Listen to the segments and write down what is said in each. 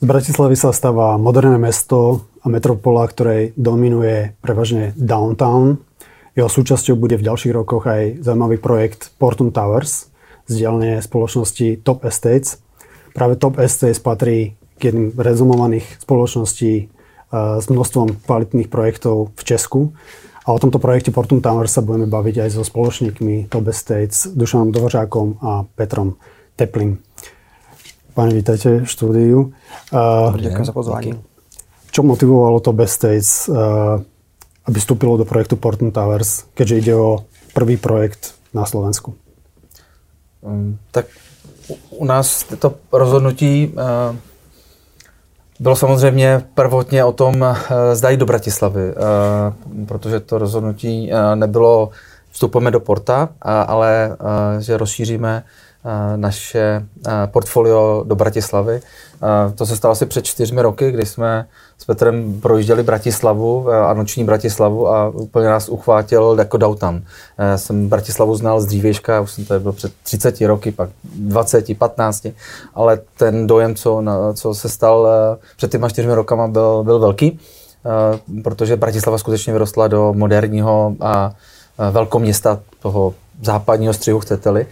Z Bratislavy sa stáva moderné mesto a metropola, ktorej dominuje prevažne downtown. Jeho súčasťou bude v ďalších rokoch aj zaujímavý projekt Portum Towers z dielne spoločnosti Top Estates. Práve Top Estates patrí k jedným rezumovaných spoločností s množstvom kvalitných projektov v Česku. A o tomto projekte Portum Towers sa budeme baviť aj so spoločníkmi Top Estates, Dušanom Dvořákom a Petrom Teplým. Páni, vítajte v štúdiu. Ďakujem za pozvanie. Čo motivovalo Top Estates, aby vstúpilo do projektu Portum Towers, keďže ide o prvý projekt na Slovensku? Tak u nás to rozhodnutí bylo samozřejmě prvotně o tom, zda jít do Bratislavy, protože to rozhodnutí nebylo vstupujeme do Porta, ale že rozšíříme naše portfolio do Bratislavy. To se stalo asi před 4 roky, kdy jsme s Petrem projížděli Bratislavu a noční Bratislavu a úplně nás uchvátil jako downtown. Já jsem Bratislavu znal z dřívějška, už jsem tady byl před 30 roky, pak 20, 15, ale ten dojem, co se stal před těma 4 rokama, byl velký, protože Bratislava skutečně vyrostla do moderního a velkoměsta toho západního střihu, chcete-li.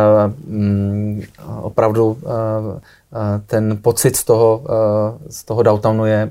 Opravdu ten pocit z toho downtownu je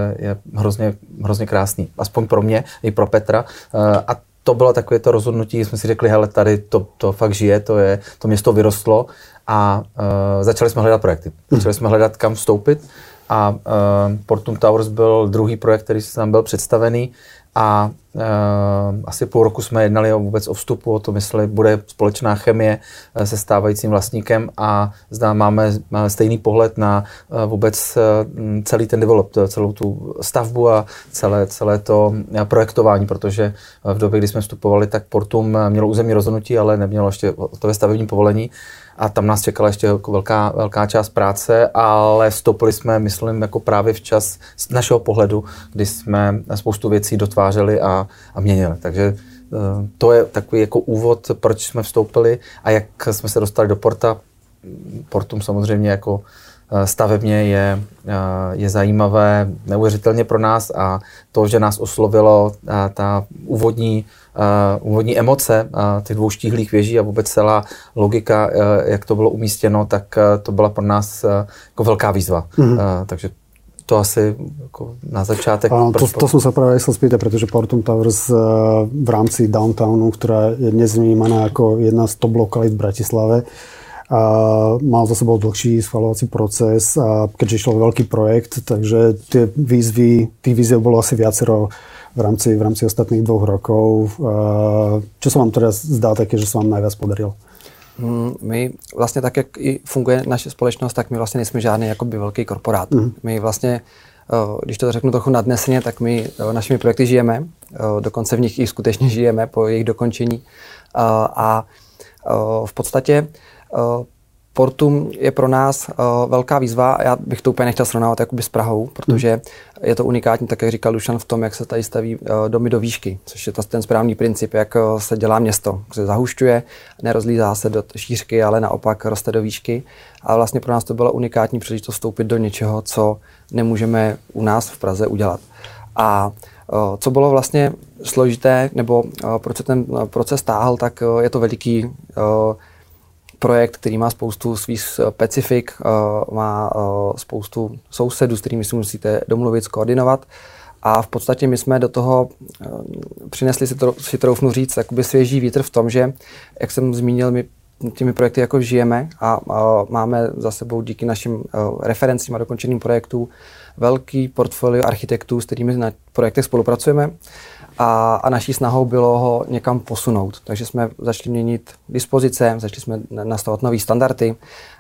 hrozně krásný. Aspoň pro mě i pro Petra. A to bylo takové to rozhodnutí, jsme si řekli, hele, tady to fakt žije, to město vyrostlo a začali jsme hledat projekty. Začali jsme hledat, kam vstoupit a Portum Towers byl druhý projekt, který nám byl představený. A asi půl roku jsme jednali vůbec o vstupu, o tom, jestli bude společná chemie se stávajícím vlastníkem a máme stejný pohled na vůbec celý ten develop, celou tu stavbu a celé to projektování, protože v době, kdy jsme vstupovali, tak Portum mělo územní rozhodnutí, ale nemělo ještě hotové stavební povolení. A tam nás čekala ještě jako velká část práce, ale vstoupili jsme, myslím, jako právě včas z našeho pohledu, kdy jsme spoustu věcí dotvářeli a měnili. Takže to je takový jako úvod, proč jsme vstoupili a jak jsme se dostali do Porta. Portum samozřejmě jako stavebně je zajímavé neuvěřitelně pro nás a to, že nás oslovilo ta úvodní emoce těch 2 štíhlých věží a vůbec celá logika, jak to bylo umístěno, tak to byla pro nás jako velká výzva. Takže to asi jako na začátek. To som sa práve chcel spýtať, pretože Portum Towers v rámci downtownu, ktorá je dnes vnímaná ako jedna z top lokalít v Bratislave, mal za sebou dlhší schvaľovací proces a keďže išlo veľký projekt, takže tých výziev bolo asi viacero v rámci ostatných 2 rokov. Čo sa vám teraz zdá také, že sa vám najviac podarilo? My vlastně tak, jak i funguje naše společnost, tak my vlastně nejsme žádný jakoby velký korporát. My vlastně, když to řeknu trochu nadneseně, tak my našimi projekty žijeme, dokonce v nich i skutečně žijeme po jejich dokončení. A v podstatě Portum je pro nás velká výzva. Já bych to úplně nechtěl srovnávat jakoby s Prahou, protože je to unikátní, tak jak říkal Dušan, v tom, jak se tady staví domy do výšky, což je ten správný princip, jak se dělá město. Se zahušťuje, nerozlízá se do šířky, ale naopak roste do výšky. A vlastně pro nás to byla unikátní příležitost vstoupit do něčeho, co nemůžeme u nás v Praze udělat. A co bylo vlastně složité, nebo proč se ten proces táhl, tak je to veliký projekt, který má spoustu svých specifik, má spoustu sousedů, s kterými si musíte domluvit, skoordinovat. A v podstatě my jsme do toho přinesli, si troufnu říct, jakoby svěží vítr v tom, že, jak jsem zmínil, my těmi projekty jako žijeme a máme za sebou díky našim referencím a dokončeným projektům velký portfolio architektů, s kterými na projektech spolupracujeme. A naší snahou bylo ho někam posunout. Takže jsme začali měnit dispozice, začali jsme nastavovat nový standardy.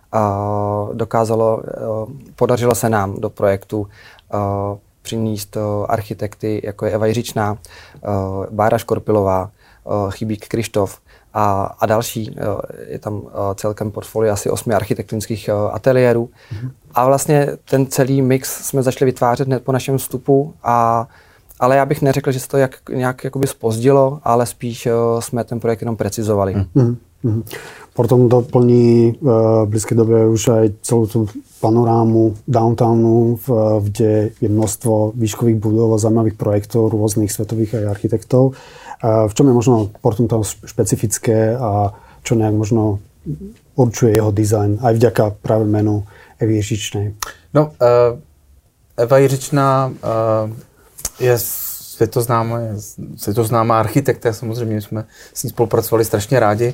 Podařilo se nám do projektu přinést architekty, jako je Eva Jiřičná, Bára Škorpilová, Chybík Krištof a další. Je tam celkem portfolio asi 8 architektonických ateliérů. A vlastně ten celý mix jsme začali vytvářet hned po našem vstupu ale já bych neřekl, že se to nějak jakoby zpozdilo, ale spíš jsme ten projekt jenom precizovali. Potom doplní v blízkej dobe už aj celú tú panorámu downtownu, kde je množstvo výškových budov a zaujímavých projektov rôznych svetových aj architektov. V čom je možno Portum Towers špecifické a čo nejak možno určuje jeho dizajn aj vďaka práve menu Evy Jiřičnej? No, Eva Jiřičná je světoznámá architekta, samozřejmě jsme s ní spolupracovali strašně rádi.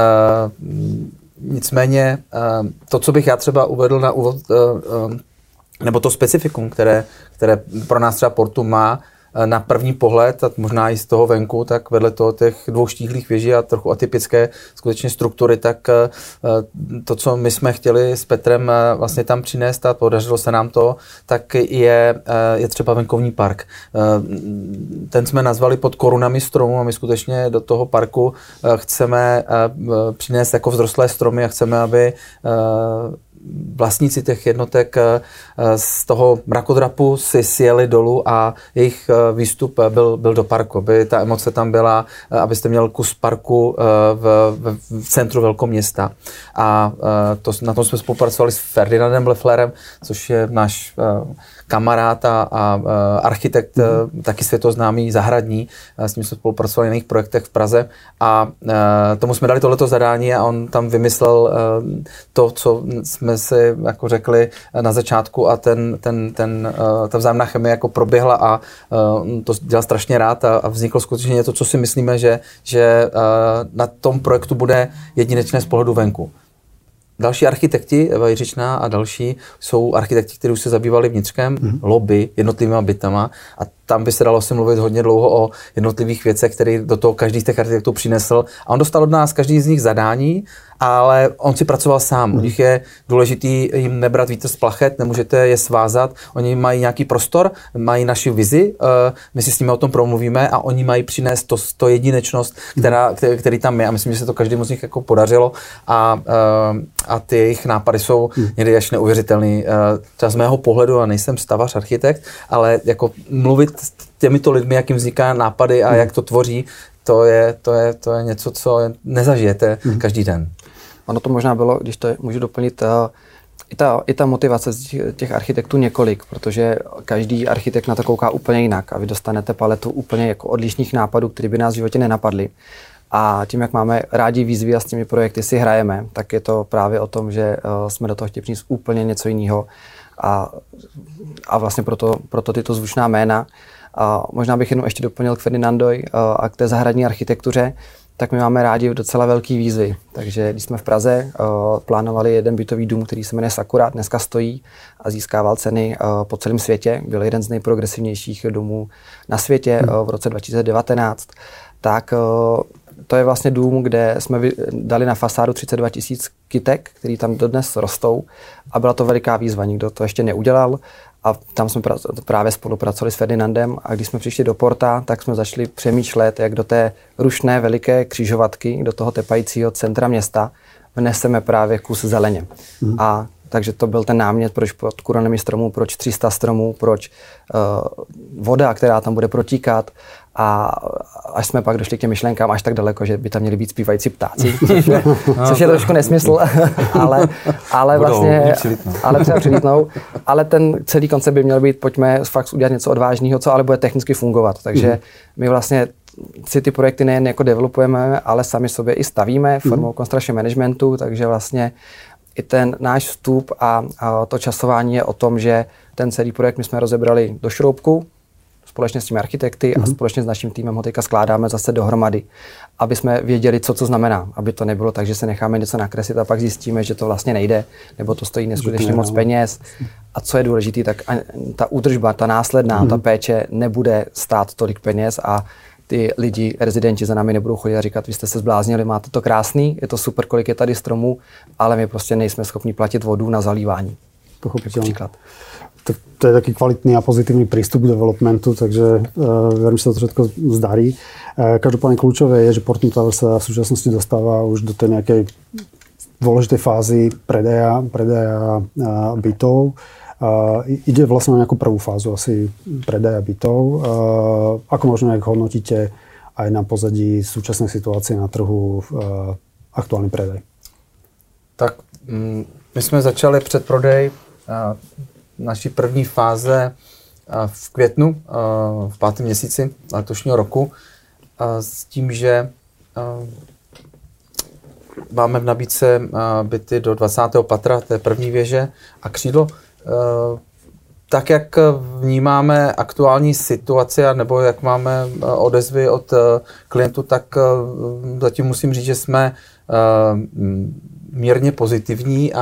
Nicméně to, co bych já třeba uvedl na úvod, nebo to specifikum, které pro nás třeba Portum má, na první pohled, a možná i z toho venku, tak vedle toho těch dvou štíhlých věží a trochu atypické skutečně struktury, tak to, co my jsme chtěli s Petrem vlastně tam přinést a podařilo se nám to, tak je třeba venkovní park. Ten jsme nazvali pod korunami stromů a my skutečně do toho parku chceme přinést jako vzrostlé stromy a chceme, aby vlastníci těch jednotek z toho mrakodrapu si sjeli dolů a jejich výstup byl do parku, aby ta emoce tam byla, abyste měl kus parku v centru velkoměsta. A na tom jsme spolupracovali s Ferdinandem Lefflerem, což je náš kamarád a architekt, taky světoznámý, zahradní. S ním jsme spolupracovali na jiných projektech v Praze a tomu jsme dali tohleto zadání a on tam vymyslel to, co jsme si jako řekli na začátku a ta vzájemná chemie jako proběhla a to dělal strašně rád a vzniklo skutečně něco, co si myslíme, že na tom projektu bude jedinečné z pohledu venku. Další architekti, Eva Jiřičná a další, jsou architekti, kteří už se zabývali vnitřkem, lobby, jednotlivými bytama a tam by se dalo si mluvit hodně dlouho o jednotlivých věcech, které do toho každý z těch architektů přinesl. A on dostal od nás každý z nich zadání, ale on si pracoval sám. U nich je důležitý jim nebrat vítr z plachet, nemůžete je svázat. Oni mají nějaký prostor, mají naši vizi, my si s nimi o tom promluvíme a oni mají přinést to jedinečnost, který tam je. A myslím, že se to každému z nich jako podařilo a ty jejich nápady jsou někdy až neuvěřitelný. Třeba z mého pohledu, a nejsem stavař, architekt, ale jako mluvit s těmito lidmi, jak jim vzniká nápady a jak to tvoří, to je něco, co nezažijete každý den. Ono to možná bylo, když to můžu doplnit, i ta motivace z těch architektů několik, protože každý architekt na to kouká úplně jinak a vy dostanete paletu úplně jako odlišných nápadů, které by nás v životě nenapadly. A tím, jak máme rádi výzvy a s těmi projekty si hrajeme, tak je to právě o tom, že jsme do toho chtěli přinést úplně něco jiného. A vlastně proto tyto zvučná jména. A možná bych jenom ještě doplnil k Ferdinandovi a k té zahradní architektuře, tak my máme rádi docela velký výzvy. Takže když jsme v Praze plánovali jeden bytový dům, který se jmenuje Sakura, dneska stojí a získával ceny po celém světě. Byl jeden z nejprogresivnějších domů na světě v roce 2019. Tak to je vlastně dům, kde jsme dali na fasádu 32 000 kytek, který tam dodnes rostou a byla to veliká výzva, nikdo to ještě neudělal a tam jsme právě spolupracovali s Ferdinandem a když jsme přišli do Porta, tak jsme začali přemýšlet, jak do té rušné veliké křižovatky, do toho tepajícího centra města vneseme právě kus zeleně. A takže to byl ten námět, proč pod korunami stromů, proč 300 stromů, proč voda, která tam bude protíkat. A až jsme pak došli k těm myšlenkám až tak daleko, že by tam měli být zpívající ptáci, což je trošku nesmysl, ale vlastně, ale třeba přilítnou. Ale ten celý koncept by měl být, pojďme fakt udělat něco odvážného, co ale bude technicky fungovat. Takže my vlastně si ty projekty nejen jako developujeme, ale sami sobě i stavíme formou construction managementu, takže vlastně i ten náš vstup a to časování je o tom, že ten celý projekt my jsme rozebrali do šroubku, společně s těmi architekty a společně s naším týmem ho teďka skládáme zase dohromady, aby jsme věděli, co znamená, aby to nebylo tak, že se necháme něco nakreslit a pak zjistíme, že to vlastně nejde, nebo to stojí neskutečně moc peněz. A co je důležité, tak ta údržba, ta následná, ta péče nebude stát tolik peněz a ty lidi, rezidenti za námi nebudou chodit a říkat, vy jste se zbláznili, máte to krásný, je to super, kolik je tady stromů, ale my prostě nejsme schopni platit vodu na zalívání. Pochopiteľne. To je taký kvalitný a pozitívny prístup k developmentu, takže verím, že sa to všetko zdarí. Každopádne kľúčové je, že Portum Towers sa v súčasnosti dostáva už do tej nejakej dôležitej fázy predaja bytov. Ide vlastne na nejakú prvú fázu asi predaja bytov. Ako možno nejak hodnotíte aj na pozadí súčasnej situácie na trhu aktuálny predaj? Tak my jsme začali předprodej naší první fáze v květnu, v 5. měsíci letošního roku, s tím, že máme v nabídce byty do 20. patra, té první věže a křídlo. Tak, jak vnímáme aktuální situaci, nebo jak máme odezvy od klientů, tak zatím musím říct, že jsme mírně pozitivní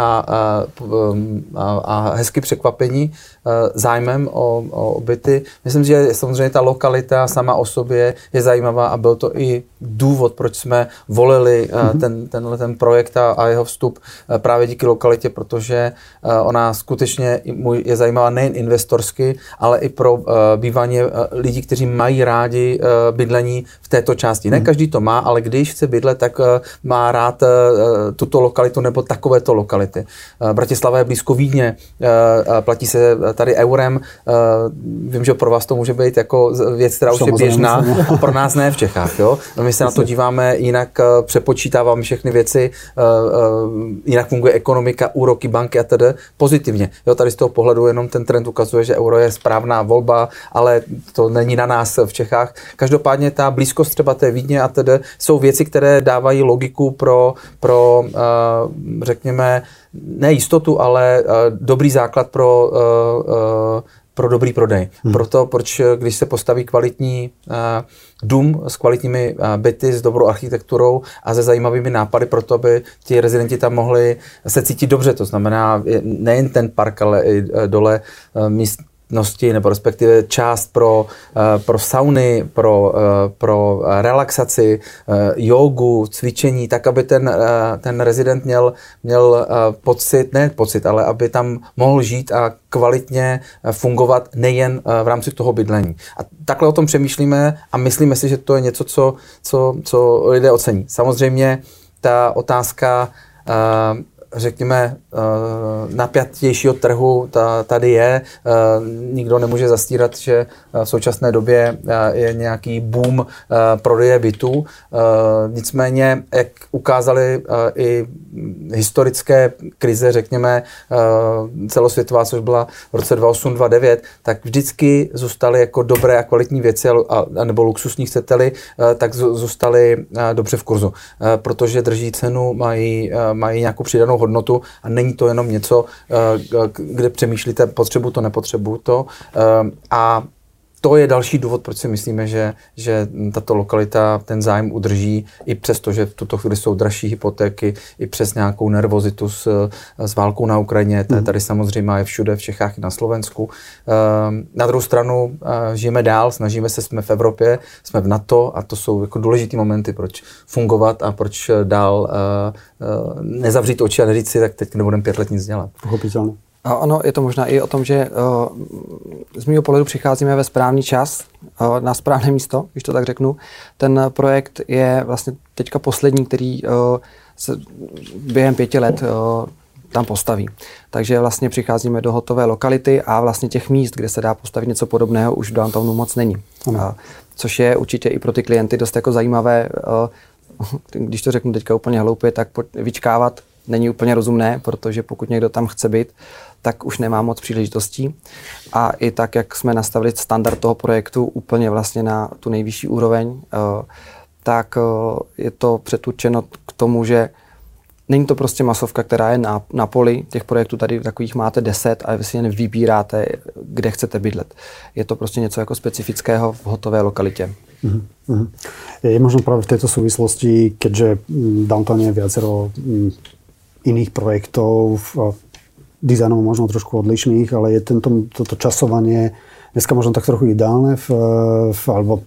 a hezky překvapení zájmem o byty. Myslím, že samozřejmě ta lokalita sama o sobě je zajímavá a byl to i důvod, proč jsme volili ten projekt a jeho vstup právě díky lokalitě, protože ona skutečně je zajímavá nejen investorsky, ale i pro bývání lidí, kteří mají rádi bydlení v této části. Ne každý to má, ale když chce bydlet, tak má rád tuto lokalitu nebo takovéto lokality. Bratislava je blízko Vídně, platí se tady eurem. Vím, že pro vás to může být jako věc, která už je běžná, a pro nás ne v Čechách. Jo? My se na to díváme jinak, přepočítáváme všechny věci, jinak funguje ekonomika, úroky, banky a tedy pozitivně. Jo, tady z toho pohledu jenom ten trend ukazuje, že euro je správná volba, ale to není na nás v Čechách. Každopádně ta blízkost třeba té Vídně a tedy jsou věci, které dávají logiku pro řekněme, ne jistotu, ale dobrý základ pro dobrý prodej. Proto, když se postaví kvalitní dům s kvalitními byty, s dobrou architekturou a se zajímavými nápady pro to, aby ti rezidenti tam mohli se cítit dobře. To znamená nejen ten park, ale i dole místnosti, nebo respektive část pro sauny, pro relaxaci, jógu, cvičení, tak, aby ten rezident měl pocit, ale aby tam mohl žít a kvalitně fungovat nejen v rámci toho bydlení. A takhle o tom přemýšlíme a myslíme si, že to je něco, co lidé ocení. Samozřejmě ta otázka řekněme, napjatějšího trhu tady je. Nikdo nemůže zastírat, že v současné době je nějaký boom prodeje bytů. Nicméně, jak ukázaly i historické krize, řekněme, celosvětová, což byla v roce 2008-2009, tak vždycky zůstaly jako dobré a kvalitní věci, nebo luxusní chcete-li, tak zůstaly dobře v kurzu. Protože drží cenu, mají nějakou přidanou hodnotu a není to jenom něco, kde přemýšlíte, potřebuji to, nepotřebuji to. A to je další důvod, proč si myslíme, že tato lokalita ten zájem udrží, i přesto, že v tuto chvíli jsou dražší hypotéky, i přes nějakou nervozitu s válkou na Ukrajině. Tady samozřejmě je všude, v Čechách i na Slovensku. Na druhou stranu žijeme dál, snažíme se, jsme v Evropě, jsme v NATO a to jsou jako důležitý momenty, proč fungovat a proč dál nezavřít oči a neříct si, tak teď nebudeme 5 let nic dělat. Pochopitelně. A ono je to možná i o tom, že z mého pohledu přicházíme ve správný čas, na správné místo, když to tak řeknu. Ten projekt je vlastně teďka poslední, který se během 5 let tam postaví. Takže vlastně přicházíme do hotové lokality a vlastně těch míst, kde se dá postavit něco podobného, už v downtownu moc není. Což je určitě i pro ty klienty dost jako zajímavé, když to řeknu teďka úplně hloupě, tak vyčkávat není úplně rozumné, protože pokud někdo tam chce být, tak už nemá moc příležitostí. A i tak, jak jsme nastavili standard toho projektu úplně vlastně na tu nejvyšší úroveň, tak je to předurčeno k tomu, že není to prostě masovka, která je na poli. Těch projektů tady takových máte 10 a vy si jen vybíráte, kde chcete bydlet. Je to prostě něco jako specifického v hotové lokalitě. Je možno práve v tejto súvislosti, keďže Downtown je viacero iných projektov, dizajnov možno trošku odlišných, ale je toto časovanie dneska možno tak trochu ideálne alebo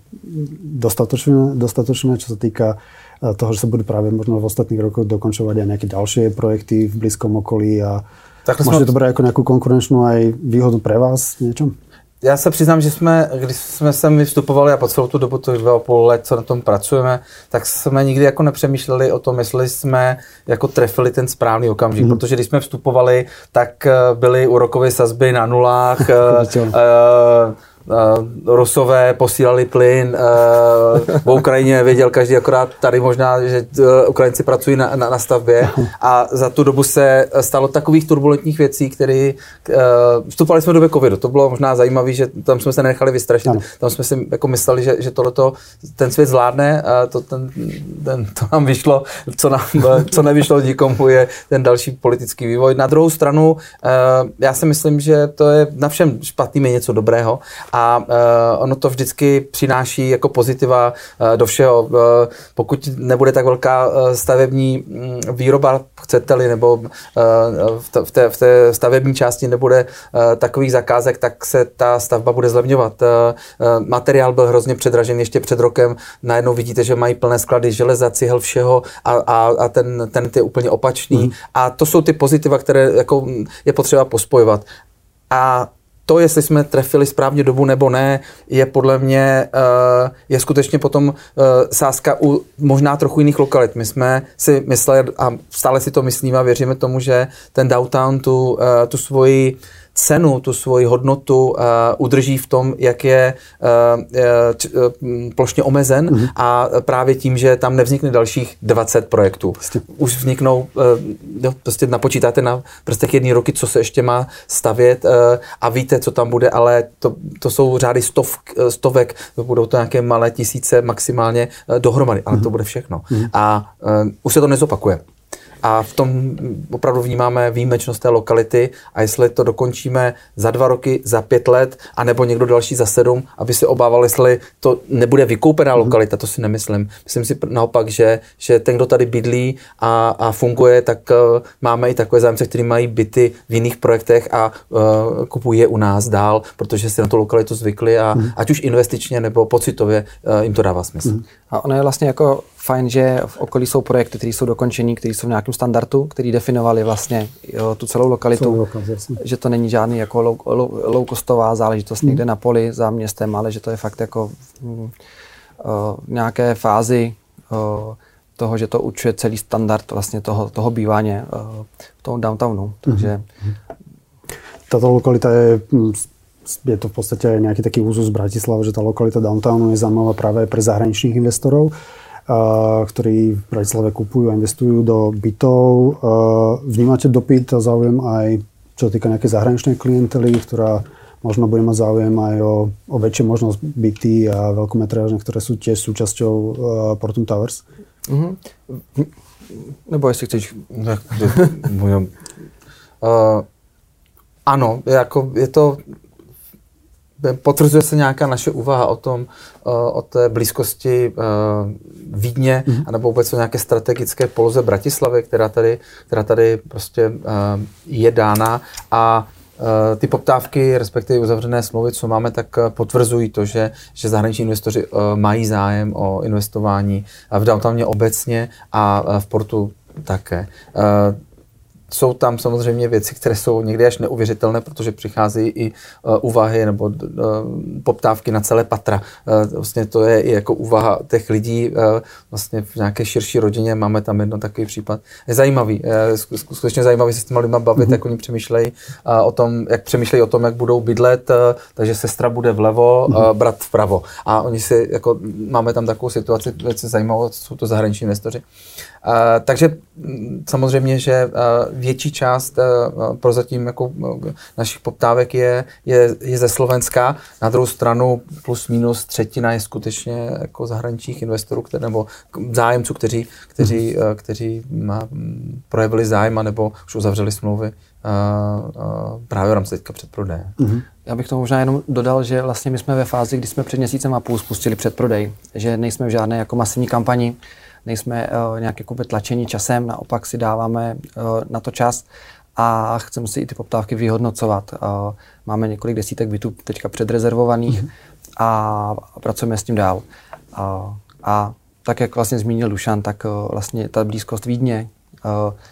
dostatočné, čo sa týka toho, že sa budú práve možno v ostatných rokoch dokončovať aj nejaké ďalšie projekty v blízkom okolí a môžete to brať ako nejakú konkurenčnú aj výhodu pre vás v niečom? Já se přiznám, že když jsme sem vstupovali a po celou tu dobu, těch 2,5 let, co na tom pracujeme, tak jsme nikdy jako nepřemýšleli o tom, jestli jsme jako trefili ten správný okamžik, protože když jsme vstupovali, tak byly úrokové sazby na nulách, Rusové posílali plyn, v Ukrajině věděl každý, akorát tady možná, že Ukrajinci pracují na stavbě a za tu dobu se stalo takových turbulentních věcí, které vstupovali jsme v době covidu. To bylo možná zajímavé, že tam jsme se nenechali vystrašit. Tam jsme si jako mysleli, že tohleto ten svět zvládne a to nám vyšlo, co nevyšlo nikomu, je ten další politický vývoj. Na druhou stranu, já si myslím, že to je na všem špatným je něco dobrého a ono to vždycky přináší jako pozitiva do všeho. Pokud nebude tak velká stavební výroba, chcete-li, nebo v té stavební části nebude takových zakázek, tak se ta stavba bude zlevňovat. Materiál byl hrozně předražený ještě před rokem. Najednou vidíte, že mají plné sklady železa, cihel, všeho a ten je úplně opačný. A to jsou ty pozitiva, které jako je potřeba pospojovat. A to, jestli jsme trefili správně dobu nebo ne, je podle mě je skutečně potom sázka u možná trochu jiných lokalit. My jsme si mysleli a stále si to myslíme a věříme tomu, že ten downtown tu svoji cenu, tu svoji hodnotu udrží v tom, jak je plošně omezen a právě tím, že tam nevznikne dalších 20 projektů. Už vzniknou, prostě napočítáte na prstech jedné roky, co se ještě má stavět a víte, co tam bude, ale to jsou řády stovek, budou to nějaké malé tisíce maximálně dohromady, ale to bude všechno. A už se to nezopakuje. A v tom opravdu vnímáme výjimečnost té lokality a jestli to dokončíme za 2 roky, za 5 let, anebo někdo další za 7, aby se obával, jestli to nebude vykoupená lokalita, to si nemyslím. Myslím si naopak, že ten, kdo tady bydlí a funguje, tak máme i takové zájemce, kteří mají byty v jiných projektech a kupují je u nás dál, protože si na tu lokalitu zvykli a ať už investičně nebo pocitově jim to dává smysl. A ono je vlastně jako fajn, že v okolí jsou projekty, které jsou dokončený, které jsou v nějakém standardu, který definovali vlastně tu celou lokalitu, že to není žádný jako low-costová záležitost někde na poli za městem, ale že to je fakt jako v nějaké fázi toho, že to určuje celý standard vlastně toho bývání v tom downtownu. Takže táto lokalita je to v podstate nejaký taký úzus Bratislava, že tá lokalita downtownu je zaujímavá práve pre zahraničných investorov, ktorí v Bratislave kupujú a investujú do bytov. Vnímate dopyt a záujem aj čo týka nejakej zahraničnej klientely, ktorá možno bude mať záujem aj o väčšie možnosť byty a veľkometrážne, ktoré sú tiež súčasťou Portum Towers? Nebo jestli chceš... Ano, jako je to... Potvrzuje se nějaká naše úvaha o té blízkosti Vídně, anebo vůbec o nějaké strategické poloze Bratislavy, která tady prostě je dána a ty poptávky, respektive uzavřené smlouvy, co máme, tak potvrzují to, že zahraniční investoři mají zájem o investování v downtowně obecně a v portu také. Jsou tam samozřejmě věci, které jsou někdy až neuvěřitelné, protože přicházejí i úvahy nebo poptávky na celé patra. Vlastně to je i jako úvaha těch lidí vlastně v nějaké širší rodině. Máme tam jedno takový případ. Je zajímavý, skutečně zajímavý se s těma lidma bavit, jak oni přemýšlejí o tom, jak budou bydlet, takže sestra bude vlevo, brat vpravo. A oni si, jako, máme tam takovou situaci, velice zajímavou, jsou to zahraniční investoři. Takže samozřejmě, že větší část prozatím jako našich poptávek je ze Slovenska. Na druhou stranu plus minus třetina je skutečně jako zahraničních investorů, nebo zájemců, kteří projevili zájem nebo už uzavřeli smlouvy právě v rámci teďka předprodeje. Já bych to možná jenom dodal, že vlastně my jsme ve fázi, kdy jsme před měsícem a půl spustili předprodej, že nejsme v žádné jako masivní kampani, nejsme nějak jako tlačení časem, naopak si dáváme na to čas a chceme si i ty poptávky vyhodnocovat. Máme několik desítek bytů teďka předrezervovaných a pracujeme s tím dál. A tak, jak vlastně zmínil Dušan, tak vlastně ta blízkost Vídně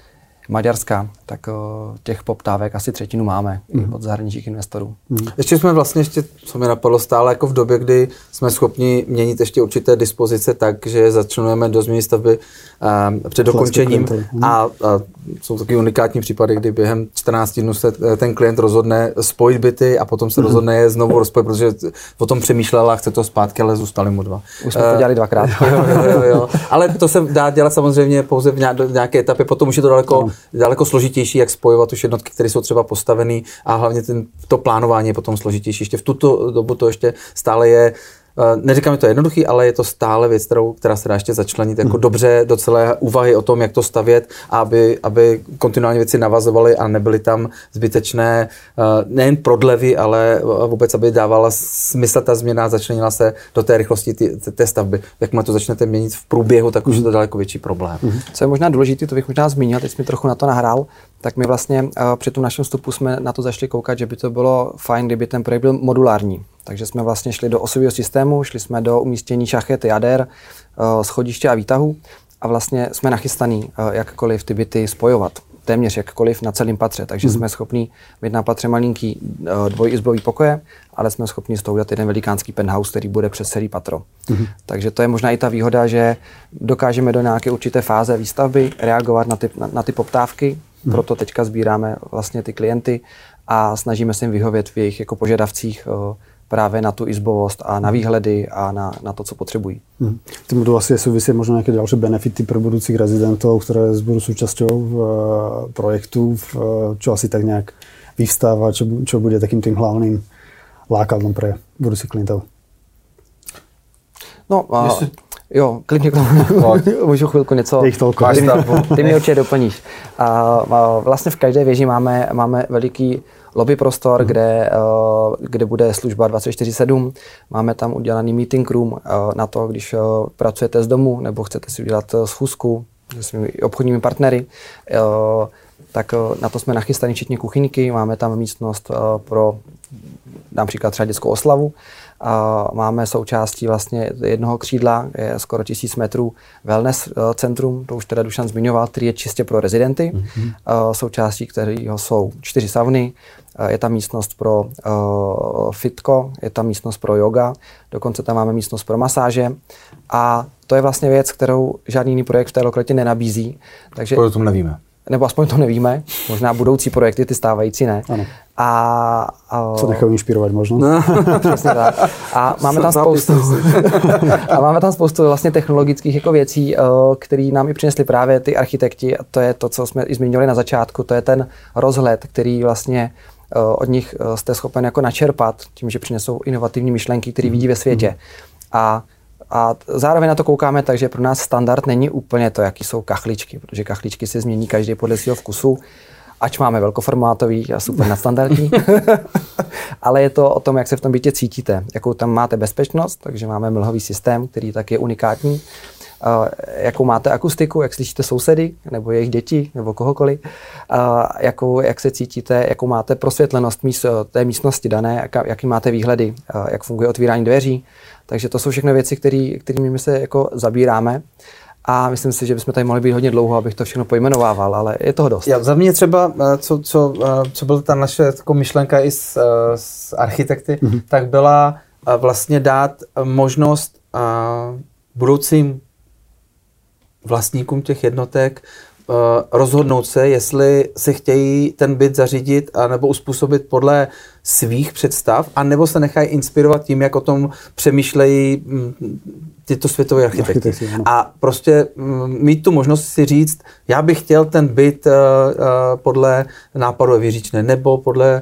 Maďarska, tak těch poptávek asi 1/3 máme od zahraničních investorů. Ještě jsme vlastně, co mi napadlo, stále jako v době, kdy jsme schopni měnit ještě určité dispozice tak, že začlenujeme do změny stavby před dokončením a jsou taky unikátní případy, kdy během 14 dnů se ten klient rozhodne spojit byty a potom se rozhodne je znovu rozpojit, protože o tom přemýšlel a chce to zpátky, ale zůstali mu 2. Už jsme to dělali 2krát. Jo. Ale to se dá dělat samozřejmě pouze v nějaké etapě, potom už je to daleko složitější, jak spojovat už jednotky, které jsou třeba postavené a hlavně to plánování je potom složitější. Ještě v tuto dobu to ještě stále je, neříkám, že to je jednoduchý, ale je to stále věc, která se dá ještě začlenit jako dobře do celé úvahy o tom, jak to stavět, aby kontinuálně věci navazovaly a nebyly tam zbytečné nejen prodlevy, ale vůbec, aby dávala smysl ta změna, začlenila se do té rychlosti té stavby. Jakmile to začnete měnit v průběhu, tak už je to daleko větší problém. Co je možná důležité, to bych možná zmínil, teď jsme trochu na to nahrál, tak my vlastně při tom našem vstupu jsme na to zašli koukat, že by to bylo fajn, kdyby ten projekt byl modulární. Takže jsme vlastně šli do osového systému, šli jsme do umístění šachet, jader, schodiště a výtahu a vlastně jsme nachystaný jakkoliv ty byty spojovat. Téměř jakkoliv na celém patře, takže jsme schopni mít na patře malinký dvojizbový pokoje, ale jsme schopni z toho udělat jeden velikánský penthouse, který bude přes celý patro. Takže to je možná i ta výhoda, že dokážeme do nějaké určité fáze výstavby reagovat na ty poptávky, proto teďka sbíráme vlastně ty klienty a snažíme se jim vyhovět v jejich jako požadavcích právě na tu izbovost a na výhledy a na to, co potřebují. Tým budú asi súvisieť možno nejaké ďalšie benefity pre budúcich rezidentov, ktoré budú súčasťou projektu, čo asi tak nejak vyvstáva, čo bude takým tým hlavným lákadlom pre budúcich klientov. No, jo, klidně k tomu můžu chvilku něco. Ty mě určitě doplníš. Vlastně v každé věži máme veliký lobby prostor, kde bude služba 24/7. Máme tam udělaný meeting room na to, když pracujete z domu nebo chcete si udělat schůzku se svými obchodními partnery. Tak na to jsme nachystaní včetně kuchyňky. Máme tam místnost pro například třeba dětskou oslavu. Máme součástí vlastně jednoho křídla, je skoro 1000 metrů wellness centrum, to už teda Dušan zmiňoval, který je čistě pro rezidenty. Součástí kterého jsou 4 sauny, je tam místnost pro fitko, je tam místnost pro yoga, dokonce tam máme místnost pro masáže a to je vlastně věc, kterou žádný jiný projekt v té lokalitě nenabízí. Takže o tom nevíme. Nebo aspoň to nevíme, možná budoucí projekty, ty stávající ne. Ano. Co nechají inspirovat možná. No. Přesně tak. A máme tam spoustu vlastně technologických jako věcí, které nám i přinesli právě ty architekti. A to je to, co jsme i zmínili na začátku, to je ten rozhled, který vlastně od nich jste schopen jako načerpat tím, že přinesou inovativní myšlenky, které vidí ve světě. A zároveň na to koukáme tak, že pro nás standard není úplně to, jaký jsou kachličky, protože kachličky se změní každý podle svého vkusu, ač máme velkoformátový a super nadstandardní. Ale je to o tom, jak se v tom bytě cítíte, jakou tam máte bezpečnost, takže máme mlhový systém, který tak je unikátní, jakou máte akustiku, jak slyšíte sousedy, nebo jejich děti, nebo kohokoliv, jak se cítíte, jakou máte prosvětlenost té místnosti dané, jaký máte výhledy, jak funguje otvírání dveří. Takže to jsou všechno věci, kterými my se jako zabíráme. A myslím si, že bychom tady mohli být hodně dlouho, abych to všechno pojmenovával, ale je toho dost. Za mě třeba, co byla ta naše jako myšlenka i s architekty, tak byla vlastně dát možnost budoucím vlastníkům těch jednotek rozhodnout se, jestli si chtějí ten byt zařídit nebo uspůsobit podle svých představ, anebo se nechají inspirovat tím, jak o tom přemýšlejí tyto světové architekty. A prostě mít tu možnost si říct, já bych chtěl ten byt podle nápadu Věříčné nebo podle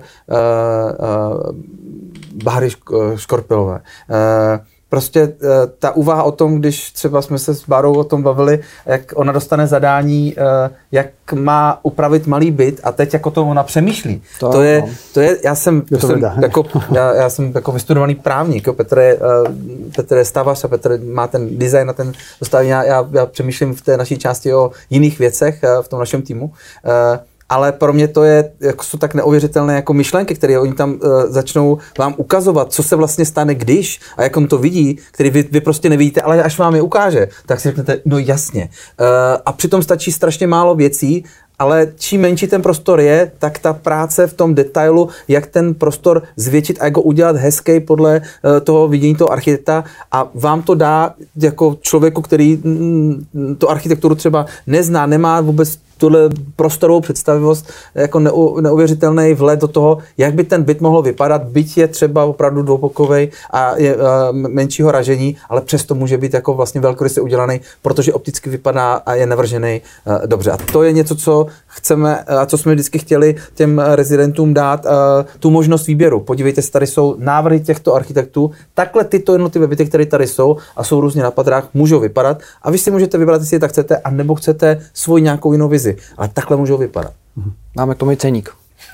Bahry Škorpilové. Prostě ta úvaha o tom, když třeba jsme se s Bárou o tom bavili, jak ona dostane zadání, jak má upravit malý byt a teď jako to ona přemýšlí. To je já jsem jako vystudovaný právník, jo. Petr je stavař a Petr má ten design a ten dostaví. Já přemýšlím v té naší části o jiných věcech v tom našem týmu. Ale pro mě to je, jako jsou tak neuvěřitelné jako myšlenky, které oni tam začnou vám ukazovat, co se vlastně stane, když a jak on to vidí, který vy prostě nevidíte, ale až vám je ukáže, tak si řeknete, no jasně. A přitom stačí strašně málo věcí ale čím menší ten prostor je, tak ta práce v tom detailu, jak ten prostor zvětšit a jak ho udělat hezký podle toho vidění toho architekta a vám to dá jako člověku, který tu architekturu třeba nezná, nemá vůbec tuhle prostorovou představivost, jako neuvěřitelný vhled do toho, jak by ten byt mohl vypadat, byť je třeba opravdu dvoupokovej a je menšího ražení, ale přesto může být jako vlastně velkoryse udělaný, protože opticky vypadá a je navržený dobře. A to je něco, co chceme a co jsme vždycky chtěli těm rezidentům dát, tu možnost výběru. Podívejte se, tady jsou návrhy těchto architektů, takhle tyto jednotlivé byty, které tady jsou a jsou různě na patrách, můžou vypadat a vy si můžete vybrat, jestli je tak chcete, anebo chcete svou nějakou jinou vizi. Ale takhle můžou vypadat. Máme k tomu i ceník.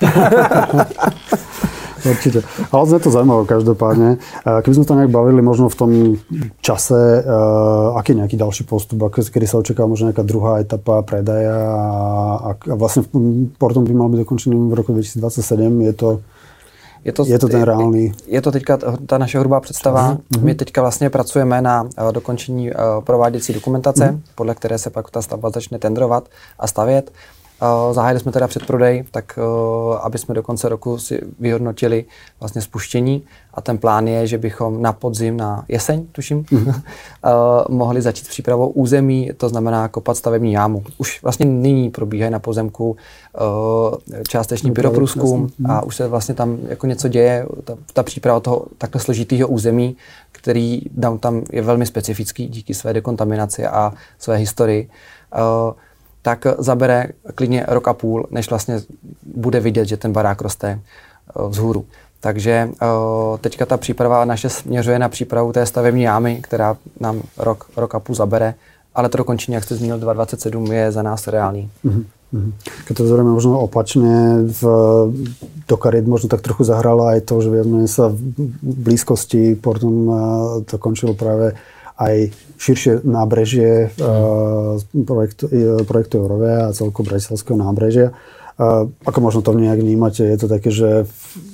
Určite. Ale je to zaujímavé každopádne. Keby sme sa nejak bavili možno v tom čase, aký nejaký ďalší postup, kedy sa očakáva možno nejaká druhá etapa predaja a vlastne Portum by mal byť dokončený v roku 2027. Je to ten reálný? Je to teďka ta naše hrubá představa. My teďka vlastně pracujeme na dokončení prováděcí dokumentace, podle které se pak ta stavba začne tendrovat a stavět. Zahájili jsme teda předprodej, tak aby jsme do konce roku si vyhodnotili vlastně spuštění a ten plán je, že bychom na podzim, na jeseň, tuším, mohli začít přípravou území, to znamená kopat stavební jámu. Už vlastně nyní probíhají na pozemku částečný pyroprůzkum a už se vlastně tam jako něco děje, ta příprava toho takhle složitého území, který downtown je velmi specifický díky své dekontaminaci a své historii. Tak zabere klidně rok a půl, než vlastně bude vidět, že ten barák roste vzhůru. Takže teďka ta příprava naše směřuje na přípravu té stavební jámy, která nám rok a půl zabere, ale to dokončení, jak jste zmínil, 2027 je za nás reálný. Keď to zrejme možno opačne, do kariet možno tak trochu zahralo aj to, že viac menej sa v blízkosti Portum to končilo práve aj širšie nábrežie projektu Eurovia a celkovo bratislavského nábrežia. Ako možno to nejak vnímate? Je to také, že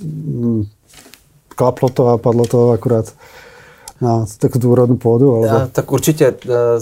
klaplo to a padlo to akurát na takú tú úrodnú pôdu? Alebo... Tak určitě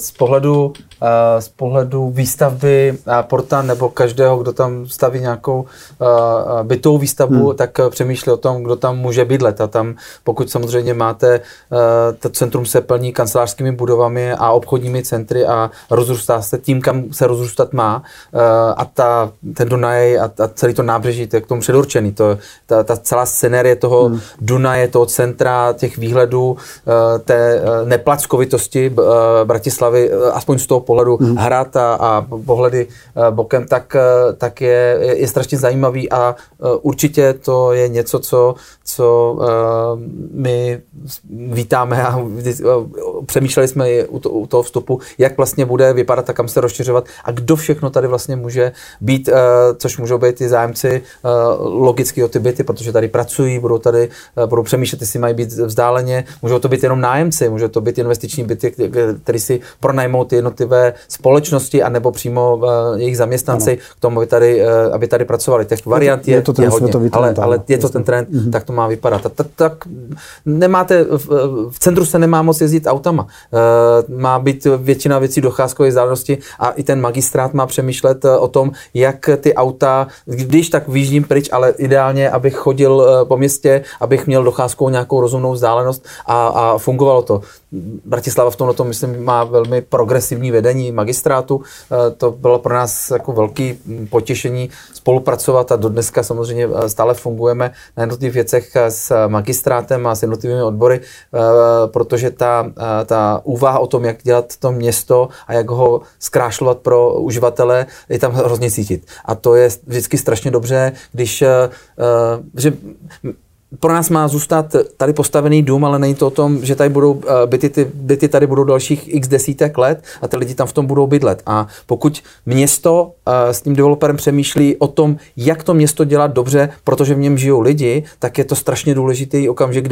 z pohledu výstavby Porta nebo každého, kdo tam staví nějakou bytovou výstavbu, tak přemýšlí o tom, kdo tam může bydlet. A tam, pokud samozřejmě máte, to centrum se plní kancelářskými budovami a obchodními centry a rozrůstá se tím, kam se rozrůstat má. A ten Dunaj a celý to nábřeží, to je k tomu předurčený. Ta celá scenérie toho Dunaje, toho centra, těch výhledů, té neplackovitosti Bratislavy, aspoň z toho pohledu hrad a pohledy bokem, tak je strašně zajímavý a určitě to je něco, co my vítáme a přemýšleli jsme u toho vstupu, jak vlastně bude vypadat a kam se rozšiřovat a kdo všechno tady vlastně může být, což můžou být i zájemci logicky o ty byty, protože tady pracují, budou přemýšlet, jestli mají být vzdáleně, můžou to být jenom nájemci, můžou to být investiční byty, které si pronajmou ty jednotlivé společnosti anebo přímo jejich zaměstnanci k tomu, aby tady pracovali. Těch variant je hodně, ale je to ten trend, tak to má vypadat. Tak nemáte, v centru se nemá moc jezdit autama. Má být většina věcí docházkové vzdálenosti a i ten magistrát má přemýšlet o tom, jak ty auta, když tak vyjíždím pryč, ale ideálně, abych chodil po městě, abych měl docházkovou nějakou rozumnou vzdálenost a fungovalo to. Bratislava v tomhle, myslím, má velmi progresivní vedení magistrátu. To bylo pro nás jako velký potěšení spolupracovat a do dneska samozřejmě stále fungujeme na jednotlivých věcech s magistrátem a s jednotlivými odbory, protože ta úvaha o tom, jak dělat to město a jak ho zkrášlovat pro uživatele, je tam hrozně cítit. A to je vždycky strašně dobře, že pro nás má zůstat tady postavený dům, ale není to o tom, že tady budou byty tady budou dalších x desítek let a ty lidi tam v tom budou bydlet. A pokud město s tím developerem přemýšlí o tom, jak to město dělat dobře, protože v něm žijou lidi, tak je to strašně důležitý okamžik, kdy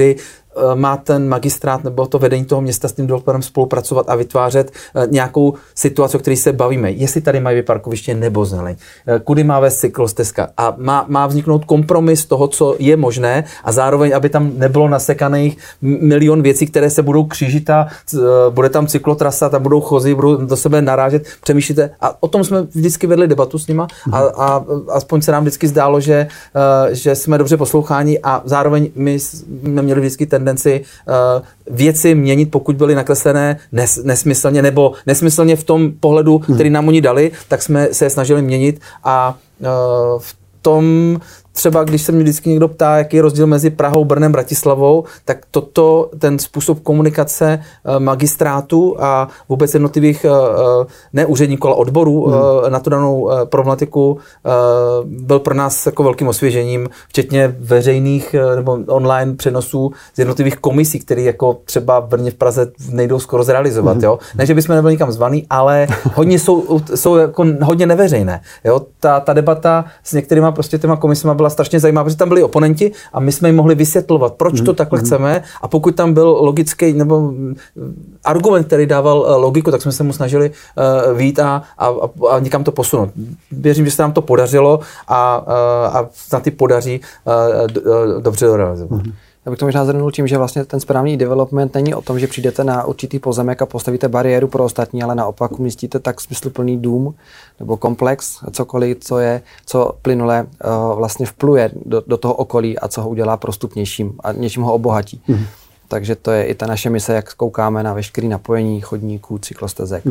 má ten magistrát nebo to vedení toho města s tím developerem spolupracovat a vytvářet nějakou situaci, o které se bavíme. Jestli tady mají parkoviště nebo zeleň, kudy má vést cyklostezka a má vzniknout kompromis toho, co je možné a zároveň, aby tam nebylo nasekaných milion věcí, které se budou křížit a bude tam cyklotrasa, tam budou chozy, budou do sebe narážet, přemýšlíte. A o tom jsme vždycky vedli debatu s nima a aspoň se nám vždycky zdálo, že jsme dobře posloucháni a zároveň my jsme měli vždycky tendenci věci měnit, pokud byly nakreslené nesmyslně nebo nesmyslně v tom pohledu, který nám oni dali, tak jsme se je snažili měnit a v tom třeba, když se mě vždycky někdo ptá, jaký je rozdíl mezi Prahou, Brnem, Bratislavou, tak ten způsob komunikace magistrátu a vůbec jednotlivých ne úředníků, ale odborů na tu danou problematiku byl pro nás jako velkým osvěžením, včetně veřejných nebo online přenosů z jednotlivých komisí, které jako třeba v Brně, v Praze nejdou skoro zrealizovat. Jo? Ne, že bychom nebyli nikam zvaný, ale hodně jsou jako hodně neveřejné. Jo? Ta debata s některýma prostě těma komisima byla strašně zajímavá, protože tam byli oponenti a my jsme jim mohli vysvětlovat, proč to takhle chceme a pokud tam byl logický nebo argument, který dával logiku, tak jsme se mu snažili vyjít a někam to posunout. Věřím, že se nám to podařilo a snad i podaří dobře dorealizovat. Já bych to možná zhrnul tím, že vlastně ten správný development není o tom, že přijdete na určitý pozemek a postavíte bariéru pro ostatní, ale naopak umístíte tak smysluplný dům nebo komplex, cokoliv, co plynule vlastně vpluje do toho okolí a co ho udělá prostupnějším a něčím ho obohatí. Takže to je i ta naše mise, jak koukáme na veškeré napojení chodníků, cyklostezek.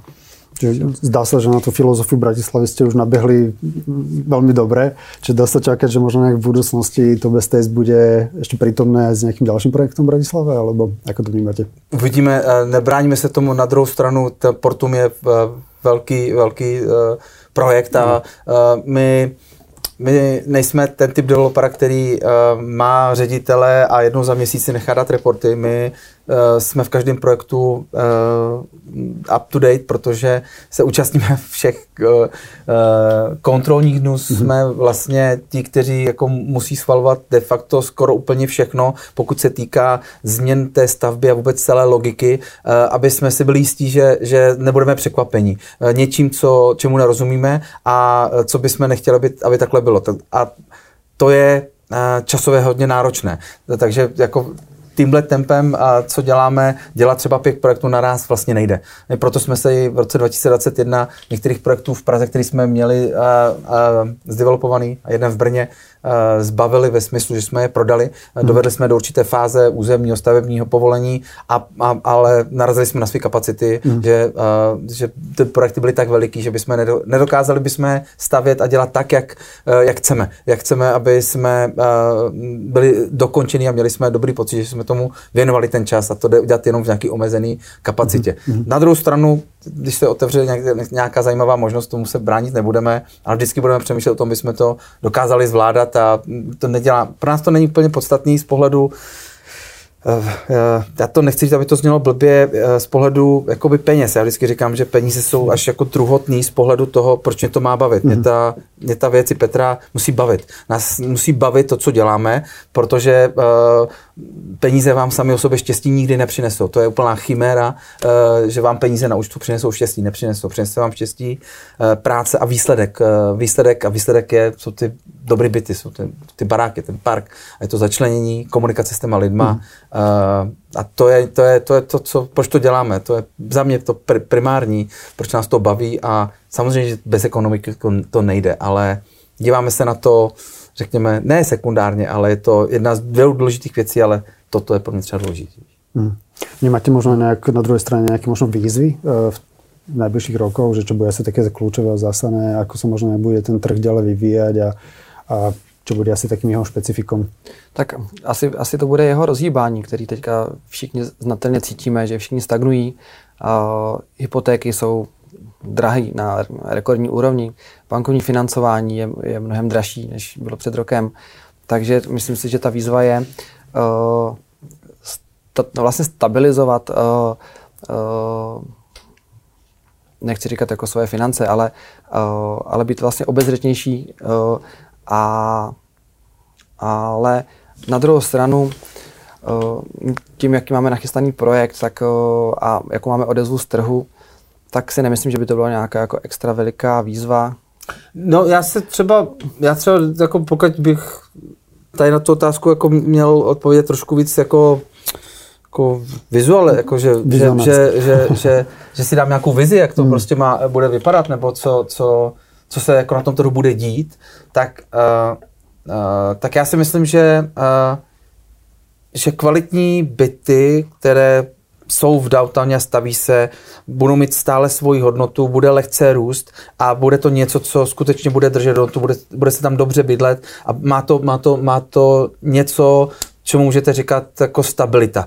Zdá sa, že na tú filozofiu Bratislavy ste už nabehli veľmi dobre. Čiže dá sa čakať, že možno nejak v budúcnosti to Best Taste bude ešte prítomné aj s nejakým ďalším projektom v Bratislave, alebo ako to vnímate? Uvidíme, nebráníme se tomu. Na druhou stranu, Portum je velký projekt a my nejsme ten typ developera, který má ředitele a jednou za měsíc si nechá dát reporty. My jsme v každém projektu up to date, protože se účastníme všech kontrolních dnů. Jsme vlastně ti, kteří jako musí schvalovat de facto skoro úplně všechno, pokud se týká změn té stavby a vůbec celé logiky, aby jsme si byli jistí, že nebudeme překvapení něčím, čemu nerozumíme a co bychom nechtěli, aby takhle bylo. A to je časově hodně náročné. Takže jako tímhle tempem, co děláme, dělat třeba 5 projektů naraz vlastně nejde. Proto jsme se i v roce 2021 některých projektů v Praze, které jsme měli zdevelopovaný a jeden v Brně, zbavili ve smyslu, že jsme je prodali. Dovedli jsme do určité fáze územního stavebního povolení, ale narazili jsme na své kapacity, že ty projekty byly tak veliký, že bychom nedokázali bychom stavět a dělat tak, jak chceme. Jak chceme, aby jsme byli dokončení a měli jsme dobrý pocit, že jsme tomu věnovali ten čas a to jde udělat jenom v nějaký omezený kapacitě. Na druhou stranu, když se otevře nějaká zajímavá možnost, tomu se bránit nebudeme, ale vždycky budeme přemýšlet o tom, bychom to dokázali zvládat a to nedělá. Pro nás to není úplně podstatný z pohledu, já to nechci říct, aby to znělo blbě, z pohledu jakoby peněz. Já vždycky říkám, že peníze jsou až jako druhotný z pohledu toho, proč mě to má bavit. Mě ta věc i Petra musí bavit. Nás musí bavit to, co děláme, protože peníze vám sami o sobě štěstí nikdy nepřinesou. To je úplná chiméra, že vám peníze na účtu přinesou štěstí. Nepřinesou. Přinese vám štěstí, práce a výsledek. Výsledek jsou ty dobrý byty, jsou ty baráky, ten park. A je to začlenění, komunikace s těma lidma. A to je to, proč to děláme. To je za mě to primární, proč nás to baví a samozřejmě, že bez ekonomiky to nejde, ale díváme se na to, řekněme, ne sekundárně, ale je to jedna z dvou důležitých věcí, ale toto je pro mě třeba důležitý. Nemáte možno na druhej strane nejaké možno výzvy v najbližších rokoch, že čo bude asi také kľúčové a zásadné, ako sa možno nebude ten trh ďalej vyvíjať a čo bude asi takým jeho špecifikom? Tak asi to bude jeho rozhýbání, který teďka všichni znatelně cítíme, že všichni stagnují. Hypotéky jsou drahý na rekordní úrovni. Bankovní financování je mnohem dražší, než bylo před rokem. Takže myslím si, že ta výzva je vlastně stabilizovat, nechci říkat jako svoje finance, ale být vlastně obezřetnější, ale na druhou stranu tím, jaký máme nachystaný projekt, tak a jakou máme odezvu z trhu, tak si nemyslím, že by to byla nějaká jako extra veliká výzva. No já třeba jako pokud bych tady na tu otázku jako měl odpovědět trošku víc jako vizuál, jako že si dám nějakou vizi, jak to prostě bude vypadat, nebo co se jako na tom trhu bude dít, tak já si myslím, že kvalitní byty, které jsou v downtowně a staví se, budou mít stále svoji hodnotu, bude lehce růst a bude to něco, co skutečně bude držet hodnotu, bude se tam dobře bydlet a má to něco, čemu můžete říkat jako stabilita.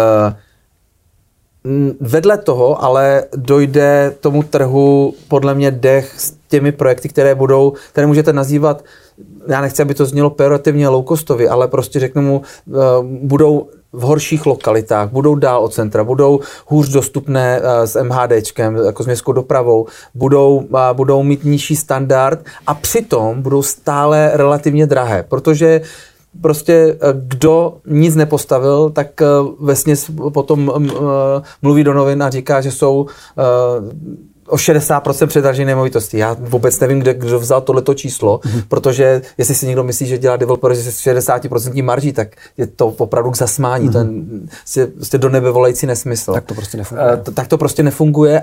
Vedle toho ale dojde tomu trhu podle mě dech s těmi projekty, které můžete nazývat, já nechci, aby to znělo pejorativně low-costově, ale prostě řeknu mu, budou v horších lokalitách, budou dál od centra, budou hůř dostupné s MHDčkem, jako s městskou dopravou, budou mít nižší standard a přitom budou stále relativně drahé, protože prostě kdo nic nepostavil, tak vesměs potom mluví do novin a říká, že jsou o 60% předražené nemovitosti. Já vůbec nevím, kdo vzal tohleto číslo, protože jestli si někdo myslí, že dělá developer se 60% marží, tak je to opravdu k zasmání. To je do nebe volající nesmysl. Tak to prostě nefunguje. Tak to prostě nefunguje,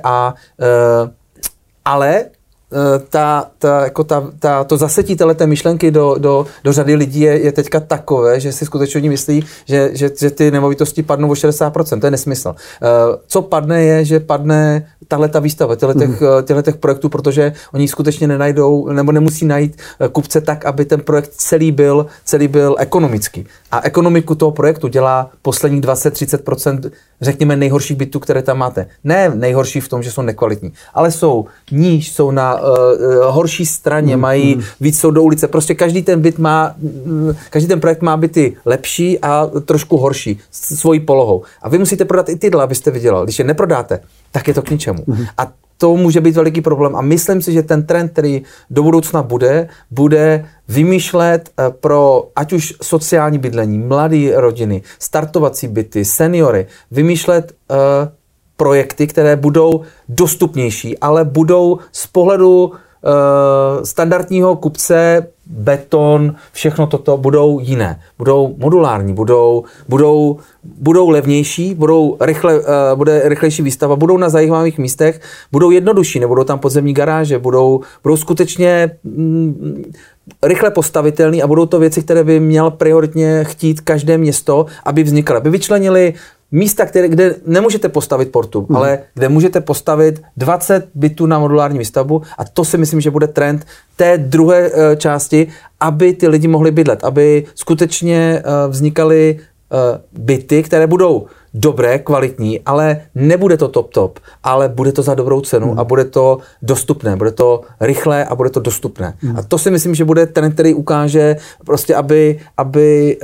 ale to zasetí téhleté myšlenky do řady lidí je teďka takové, že si skutečně oni myslí, že ty nemovitosti padnou o 60%. To je nesmysl. Co padne je, že padne tahleta výstava těchto projektů, protože oni skutečně nenajdou nebo nemusí najít kupce tak, aby ten projekt celý byl ekonomický. A ekonomiku toho projektu dělá posledních 20-30%, řekněme, nejhorších bytů, které tam máte. Ne nejhorší v tom, že jsou nekvalitní, ale jsou níž, jsou na horší straně, mají víc jsou do ulice. Prostě každý ten projekt má byty lepší a trošku horší svojí polohou. A vy musíte prodat i tyhle, abyste vydělali. Když je neprodáte, tak je to k ničemu. A to může být veliký problém. A myslím si, že ten trend, který do budoucna bude vymýšlet pro ať už sociální bydlení, mladé rodiny, startovací byty, seniory, vymýšlet projekty, které budou dostupnější, ale budou z pohledu standardního kupce, beton, všechno toto budou jiné. Budou modulární, budou levnější, bude rychlejší výstava, budou na zajímavých místech, budou jednodušší, nebudou tam podzemní garáže, budou skutečně rychle postavitelný a budou to věci, které by měl prioritně chtít každé město, aby vznikaly. Aby vyčlenili místa, kde nemůžete postavit portu, ale kde můžete postavit 20 bytů na modulární výstavbu a to si myslím, že bude trend té druhé části, aby ty lidi mohli bydlet, aby skutečně vznikaly byty, které budou dobré, kvalitní, ale nebude to top, ale bude to za dobrou cenu a bude to dostupné, bude to rychlé a bude to dostupné. A to si myslím, že bude trend, který ukáže prostě, aby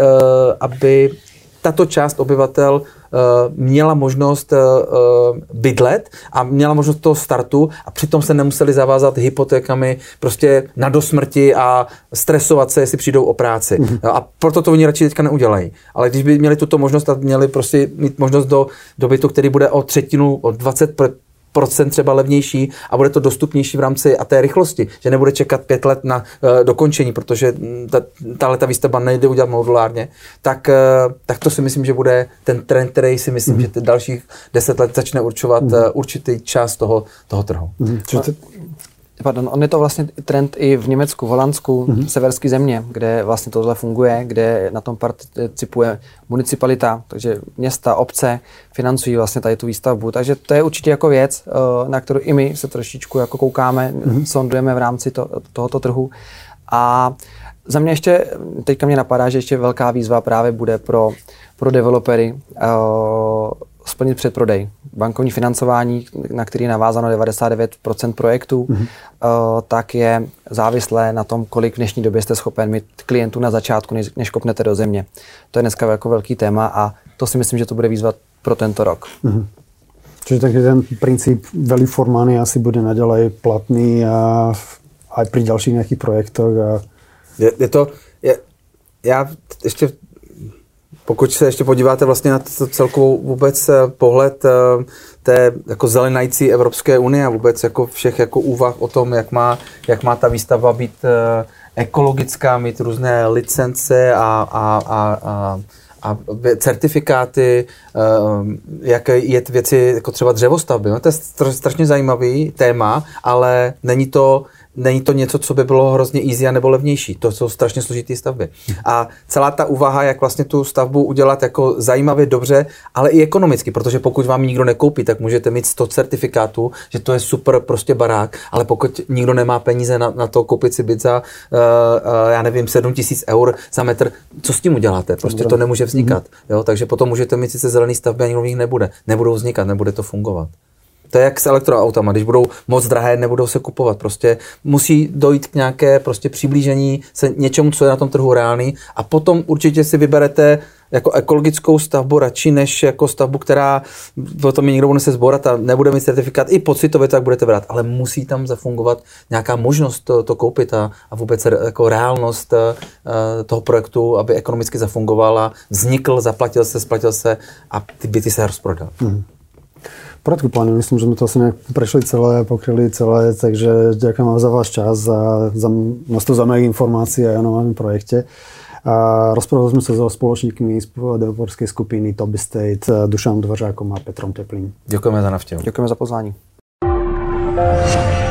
tato část obyvatel měla možnost bydlet a měla možnost toho startu a přitom se nemuseli zavázat hypotékami prostě na dosmrti a stresovat se, jestli přijdou o práci. A proto to oni radši teďka neudělají. Ale když by měli tuto možnost a měli prostě mít možnost do bytu, který bude o 20% třeba levnější a bude to dostupnější v rámci a té rychlosti, že nebude čekat 5 let na dokončení, protože ta výstavba nejde udělat modulárně, tak to si myslím, že bude ten trend, který si myslím, že dalších 10 let začne určovat určitý část toho trhu. Pardon, on je to vlastně trend i v Německu, v Holandsku, severské země, kde vlastně tohle funguje, kde na tom participuje municipalita, takže města, obce financují vlastně tady tu výstavbu. Takže to je určitě jako věc, na kterou i my se trošičku jako koukáme, sondujeme v rámci tohoto trhu. A za mě ještě, teďka mě napadá, že ještě velká výzva právě bude pro developery splnit předprodej. Bankovní financování, na který je navázáno 99% projektů, tak je závislé na tom, kolik v dnešní době jste schopen mít klientů na začátku, než kopnete do země. To je dneska jako velký téma a to si myslím, že to bude výzva pro tento rok. Čiže taký ten princíp value for money asi bude naďalej platný a aj pri ďalších nejakých projektoch. Já ještě Pokud se ještě podíváte vlastně na celkovou vůbec pohled té jako zelenající Evropské unie a vůbec jako všech jako úvah o tom, jak má ta výstavba být ekologická, mít různé licence a certifikáty, jak jet věci jako třeba dřevostavby. No, to je strašně zajímavý téma, ale není to něco, co by bylo hrozně easy a nebo levnější. To jsou strašně složitý stavby. A celá ta úvaha, jak vlastně tu stavbu udělat jako zajímavě, dobře, ale i ekonomicky, protože pokud vám nikdo nekoupí, tak můžete mít 100 certifikátů, že to je super prostě barák, ale pokud nikdo nemá peníze na to koupit si byt za, já nevím, 7 000 eur za metr, co s tím uděláte? Prostě to nemůže vznikat. Jo? Takže potom můžete mít sice zelený stavby a nikdo v nich nebude. Nebudou vznikat, nebude to fungovat. To je jak s elektroautama, když budou moc drahé, nebudou se kupovat. Prostě musí dojít k nějaké prostě přiblížení se něčemu, co je na tom trhu reálný a potom určitě si vyberete jako ekologickou stavbu radši, než jako stavbu, která potom někdo bude se zborat a nebude mít certifikát. I pocitově tak budete brát, ale musí tam zafungovat nějaká možnost to koupit a vůbec jako reálnost toho projektu, aby ekonomicky zafungoval a vznikl, zaplatil se, splatil se a ty byty se rozprodal. V poriadku, páni, myslím, že sme to asi nejak prešli celé, pokryli celé, takže ďakujem vám za váš čas a za množstvo zaujímavých informácií aj o novom projekte. Rozprávali sme sa so spoločníkmi z developerskej skupiny Top Estate, Dušanom Dvořákom a Petrom Teplým. Ďakujeme za návštevu. Ďakujeme za pozvání.